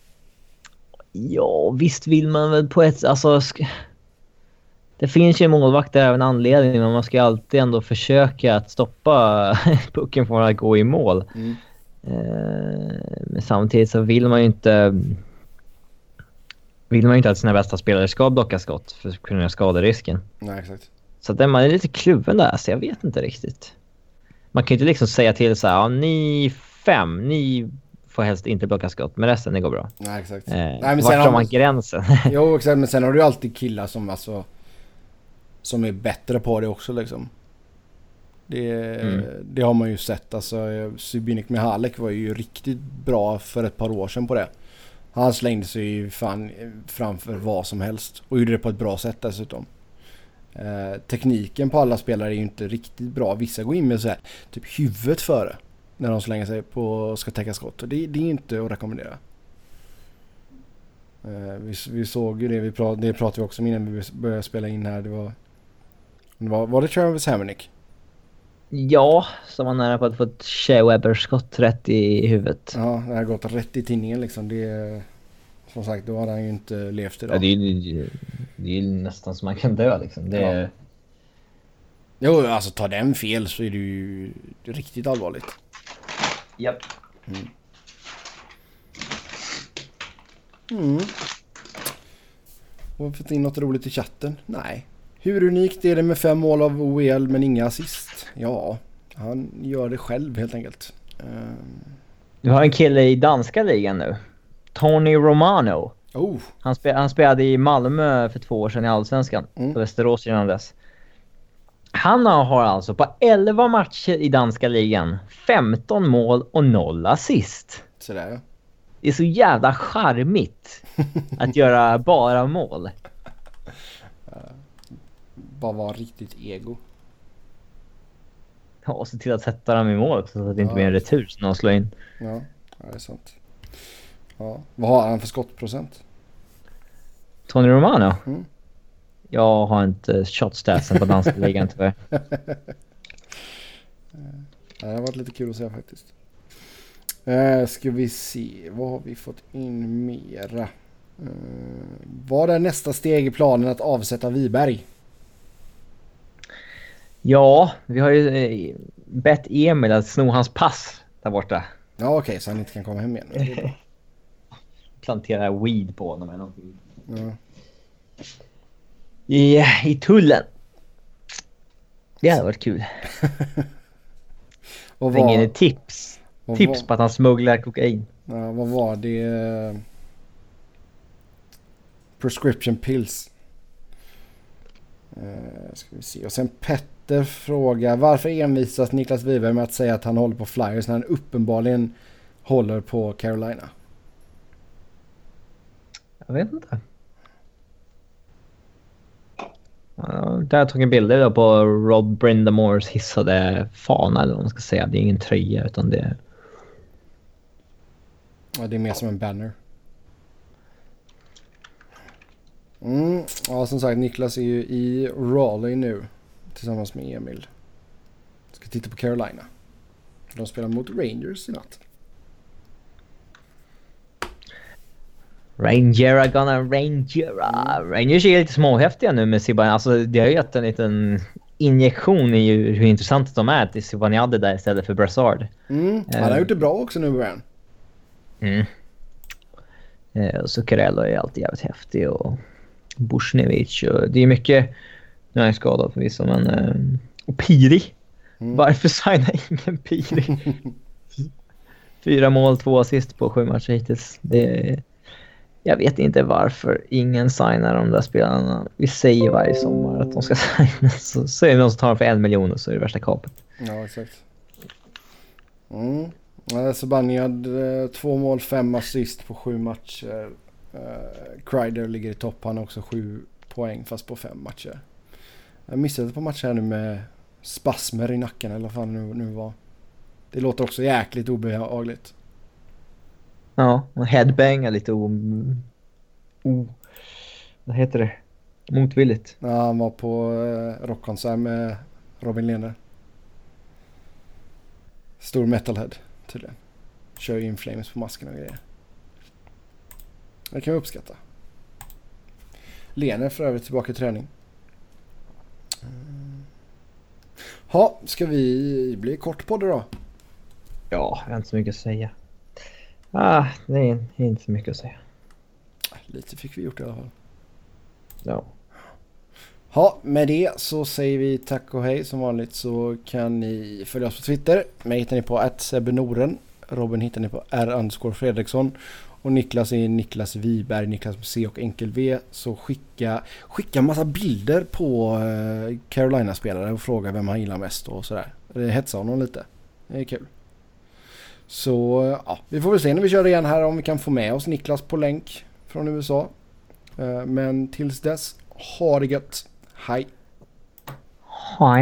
Ja, visst vill man väl på ett... Alltså, sk- det finns ju målvakter även anledning, men man ska alltid ändå försöka att stoppa pucken från att gå i mål. Mm. Uh, men samtidigt så vill man ju inte... Vill man ju inte att sina bästa spelare ska blocka skott för att kunna skada risken. Nej, exakt. Så att man är lite kluven där, så jag vet inte riktigt. Man kan ju inte liksom säga till så här, ja, ni fem, ni får helst inte blocka skott, men resten det går bra. Nej, exakt. Eh, Nej, men vart sen drar man gränsen? Jo, exakt, men sen har du ju alltid killar som alltså som är bättre på det också liksom. Det, Mm. det har man ju sett. Alltså, Subinik Mihalek var ju riktigt bra för ett par år sedan på det. Han slängde sig ju fan framför vad som helst. Och gjorde det på ett bra sätt dessutom. Eh, tekniken på alla spelare är ju inte riktigt bra. Vissa går in med så här, typ huvudet före. När de slänger sig på och ska täcka skott. Och det, det är inte att rekommendera. Eh, vi, vi såg ju det. Vi prat, det pratade vi också om innan vi började spela in här. Det var, det var, var det Travis Hamonic? Ja, som var nära på att få ett Shea Weber-skott rätt i huvudet. Ja, det har gått rätt i tinningen liksom. Det, som sagt, då hade han ju inte levt idag. Ja, det, är, ju- det är ju nästan som man kan dö liksom. Det är, Ja. Jo, alltså tar den fel så är det ju riktigt allvarligt. Japp. Mm. Har vi fått in något roligt i chatten? Nej. Hur unikt är det med fem mål av O E L men inga assist? Ja, han gör det själv helt enkelt. Um. Du har en kille i danska ligan nu. Tony Romano. Oh, Han, spe, han spelade i Malmö för två år sedan i Allsvenskan. Mm. På Västerås innan dess. Han har alltså på elva matcher i danska ligan femton mål och noll assist. sådär ja. Det är så jävla charmigt att göra bara mål. Bara vara riktigt ego. Ja, och se till att sätta dem i mål också, så att det inte Ja. blir en retur som de slår in. Ja, ja, det är sant. Ja. Vad har han för skottprocent? Tony Romano? Mm. Jag har inte shotstatsen på danska ligan tyvärr. Ja, det har varit lite kul att se faktiskt. Eh, ska vi se, vad har vi fått in mera? Eh, vad är nästa steg i planen att avsätta Wiberg? Ja, vi har ju eh, bett Emil att sno hans pass där borta. Ja okej, okay, så han inte kan komma hem igen. Det är bra. Plantera weed på honom eller någonting. Ja. I, I tullen. Det hade varit kul. Vad Ringa in var, ett tips. vad Tips var, på att han smugglar kokain. ja, vad var det? Prescription pills. Eh, ska vi se. Och sen Petter frågar, varför envisas Niklas Wiberg med att säga att han håller på Flyers när han uppenbarligen håller på Carolina? Jag vet inte. Ja, där tog en bild då på Rob Brindamores hissade fana eller vad man ska säga. Det är ingen tröja utan det är... Ja, det är mer som en banner. Mm. Ja, som sagt, Niklas är ju i Raleigh nu tillsammans med Emil. Ska titta på Carolina. De spelar mot Rangers i natt. Rangera gonna Rangera. Rangers är lite småhäftiga nu med Zibanejad. Alltså det har ju gett en liten injektion i hur intressant de är till Zibanejad där istället för Brassard. Mm. Han har Eh. gjort det bra också nu, Brian. Mm. Eh, och Zuccarello är alltid jävligt häftig och Bushnevic och det är mycket, nu är jag skadad förvisso men eh, och Piri. Mm. Varför signar ingen Piri? Fyra mål, två assist på sju matcher hittills. Det är, jag vet inte varför ingen signar de där spelarna. Vi säger varje sommar att de ska signa. Så, så är det någon som tar dem för en miljon och så är det värsta kapet. Ja, exakt. Mm. Ja, Zibanejad, eh, två mål, fem assist på sju matcher. Uh, Kreider ligger i topp. Han har också sju poäng fast på fem matcher. Jag missade på matcher här nu med spasmer i nacken eller vad fan det nu, nu var. Det låter också jäkligt obehagligt. Ja, och headbang är lite o... o... Vad heter det? Motvilligt. Ja, han var på uh, rockkonsert med Robin Lehner. Stor metalhead tydligen. Kör ju In Flames på masken och grejer. Det kan vi uppskatta. Lehner för övrigt tillbaka i träning. Ja, ska vi bli kort på det då? Ja, jag har inte så mycket att säga. Ah, det är, det är inte så mycket att säga. Lite fick vi gjort i alla fall. Ja. Ja, med det så säger vi tack och hej. Som vanligt så kan ni följa oss på Twitter. Mig hittar ni på at sebenoren. Robin hittar ni på r underscore Fredriksson. Och Niklas är Niklas Wiberg, Niklas med C och enkel V. Så skicka, skicka massa bilder på uh, Carolina-spelare och fråga vem han gillar mest och sådär. Hetsa honom lite. Det är kul. Så ja, vi får väl se när vi kör igen här om vi kan få med oss Niklas på länk från U S A. Uh, men tills dess, ha det gött. Hej! Hej!